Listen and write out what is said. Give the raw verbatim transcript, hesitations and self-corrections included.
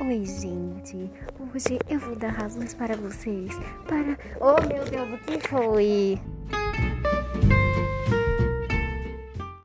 Oi, gente. Hoje eu vou dar razões para vocês. Para. Oh, meu Deus, o que foi?